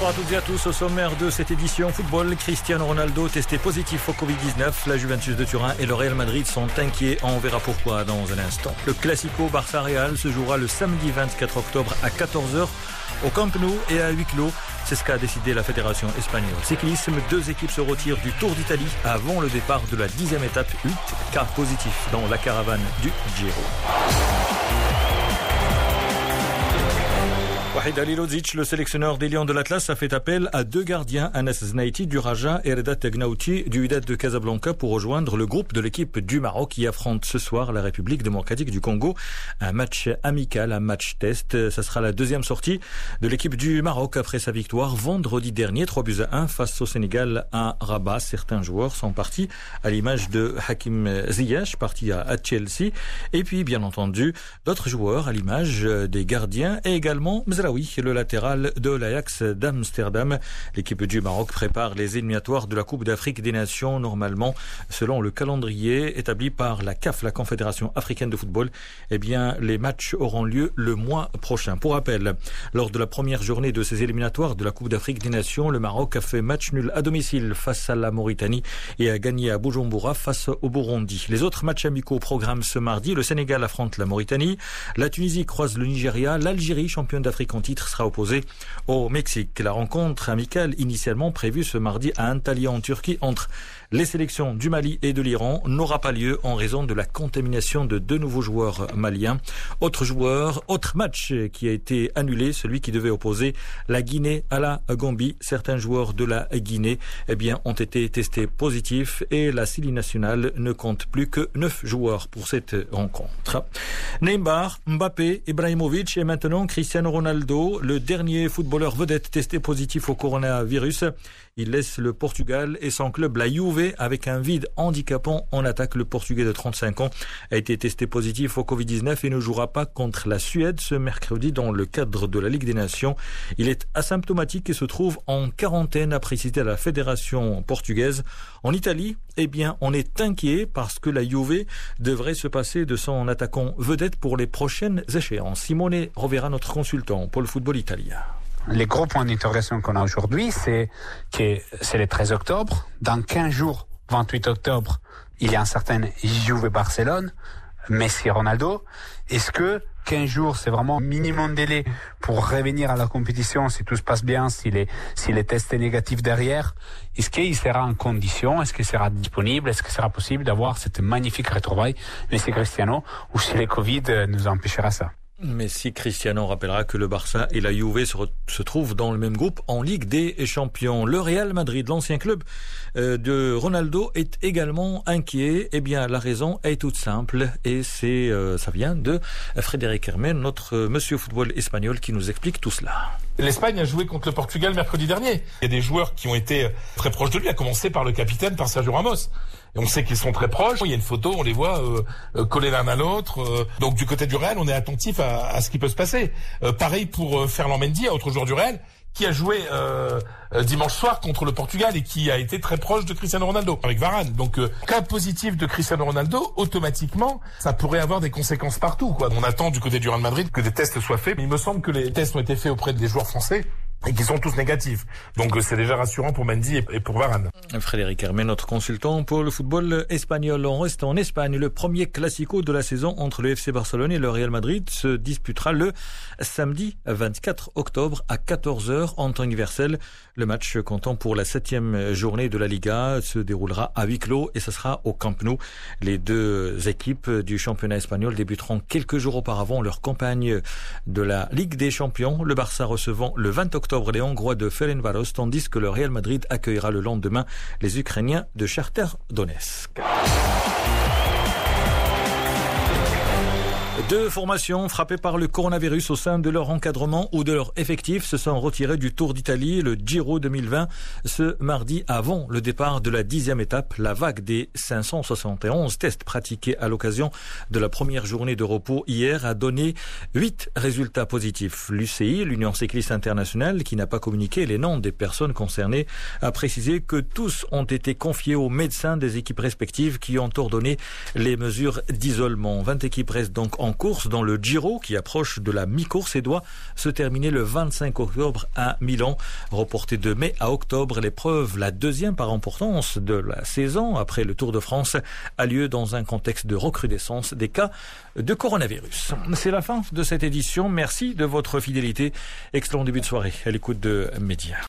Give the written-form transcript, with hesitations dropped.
Bonsoir à toutes et à tous. Au sommaire de cette édition football, Cristiano Ronaldo testé positif au Covid-19. La Juventus de Turin et le Real Madrid sont inquiets. On verra pourquoi dans un instant. Le Classico Barça-Real se jouera le samedi 24 octobre à 14h au Camp Nou et à huis clos. C'est ce qu'a décidé la Fédération espagnole. Cyclisme, 2 équipes se retirent du Tour d'Italie avant le départ de la 10e étape. 8 cas positifs dans la caravane du Giro. Wahid Halilovic, le sélectionneur des Lions de l'Atlas, a fait appel à 2 gardiens, Anas Znaïti du Raja et Reda Tegnauti du Wydad de Casablanca pour rejoindre le groupe de l'équipe du Maroc qui affronte ce soir la République démocratique du Congo. Un match amical, un match test. Ça sera la 2e sortie de l'équipe du Maroc après sa victoire vendredi dernier, 3-1 face au Sénégal à Rabat. Certains joueurs sont partis à l'image de Hakim Ziyech, parti à Chelsea. Et puis, bien entendu, d'autres joueurs à l'image des gardiens et également Mzraoui, le latéral de l'Ajax d'Amsterdam. L'équipe du Maroc prépare les éliminatoires de la Coupe d'Afrique des Nations. Normalement, selon le calendrier établi par la CAF, la Confédération africaine de football, eh bien, les matchs auront lieu le mois prochain. Pour rappel, lors de la première journée de ces éliminatoires de la Coupe d'Afrique des Nations, le Maroc a fait match nul à domicile face à la Mauritanie et a gagné à Bujumbura face au Burundi. Les autres matchs amicaux au programme ce mardi, le Sénégal affronte la Mauritanie, la Tunisie croise le Nigeria, l'Algérie, championne d'Afrique en titre, sera opposée au Mexique. La rencontre amicale initialement prévue ce mardi à Antalya en Turquie entre les sélections du Mali et de l'Iran n'aura pas lieu en raison de la contamination de 2 nouveaux joueurs maliens. Autre match qui a été annulé, celui qui devait opposer la Guinée à la Gambie. Certains joueurs de la Guinée, eh bien, ont été testés positifs et la série nationale ne compte plus que 9 joueurs pour cette rencontre. Neymar, Mbappé, Ibrahimovic et maintenant Cristiano Ronaldo, le dernier footballeur vedette testé positif au coronavirus. Il laisse le Portugal et son club, la Juve, avec un vide handicapant en attaque. Le Portugais de 35 ans a été testé positif au Covid-19 et ne jouera pas contre la Suède ce mercredi dans le cadre de la Ligue des Nations. Il est asymptomatique et se trouve en quarantaine, a précisé la Fédération portugaise. En Italie, eh bien, on est inquiet parce que la Juve devrait se passer de son attaquant vedette pour les prochaines échéances. Simone Rovera, notre consultant pour le football italien. Les gros points d'interrogation qu'on a aujourd'hui, c'est que c'est le 13 octobre. Dans 15 jours, 28 octobre, il y a un certain Juve-Barcelone, Messi et Ronaldo. Est-ce que 15 jours, c'est vraiment minimum délai pour revenir à la compétition si tout se passe bien, si les tests est négatif derrière? Est-ce qu'il sera en condition? Est-ce qu'il sera disponible? Est-ce qu'il sera possible d'avoir cette magnifique retrouvaille Messi Cristiano, ou si le Covid nous empêchera ça? Mais si Cristiano rappellera que le Barça et la Juve se trouvent dans le même groupe en Ligue des Champions. Le Real Madrid, l'ancien club de Ronaldo, est également inquiet. Eh bien, la raison est toute simple et ça vient de Frédéric Hermen, notre monsieur football espagnol, qui nous explique tout cela. L'Espagne a joué contre le Portugal mercredi dernier. Il y a des joueurs qui ont été très proches de lui, à commencer par le capitaine, par Sergio Ramos. Et on sait qu'ils sont très proches. Il y a une photo, on les voit collés l'un à l'autre. Donc du côté du Real, on est attentif à ce qui peut se passer. Pareil pour Ferland Mendy, autre joueur du Real, qui a joué dimanche soir contre le Portugal et qui a été très proche de Cristiano Ronaldo avec Varane. Donc cas positif de Cristiano Ronaldo, automatiquement, ça pourrait avoir des conséquences partout, quoi. On attend du côté du Real Madrid que des tests soient faits, mais il me semble que les tests ont été faits auprès des joueurs français et qui sont tous négatifs. Donc c'est déjà rassurant pour Mendy et pour Varane. Frédéric Hermen, notre consultant pour le football espagnol. On reste en Espagne. Le premier classico de la saison entre le FC Barcelone et le Real Madrid se disputera le samedi 24 octobre à 14h en temps universel. Le match comptant pour la 7e journée de la Liga se déroulera à huis clos et ce sera au Camp Nou. Les 2 équipes du championnat espagnol débuteront quelques jours auparavant leur campagne de la Ligue des Champions. Le Barça recevant le 20 octobre les Hongrois de Ferencváros, tandis que le Real Madrid accueillera le lendemain les Ukrainiens de Shakhtar Donetsk. 2 formations frappées par le coronavirus au sein de leur encadrement ou de leur effectif se sont retirées du Tour d'Italie, le Giro 2020, ce mardi avant le départ de la 10e étape. La vague des 571 tests pratiqués à l'occasion de la première journée de repos hier a donné 8 résultats positifs. L'UCI, l'Union cycliste internationale, qui n'a pas communiqué les noms des personnes concernées, a précisé que tous ont été confiés aux médecins des équipes respectives qui ont ordonné les mesures d'isolement. 20 équipes restent donc en course dans le Giro qui approche de la mi-course et doit se terminer le 25 octobre à Milan. Reportée de mai à octobre, l'épreuve, la deuxième par importance de la saison après le Tour de France, a lieu dans un contexte de recrudescence des cas de coronavirus. C'est la fin de cette édition. Merci de votre fidélité. Excellent début de soirée à l'écoute de Média.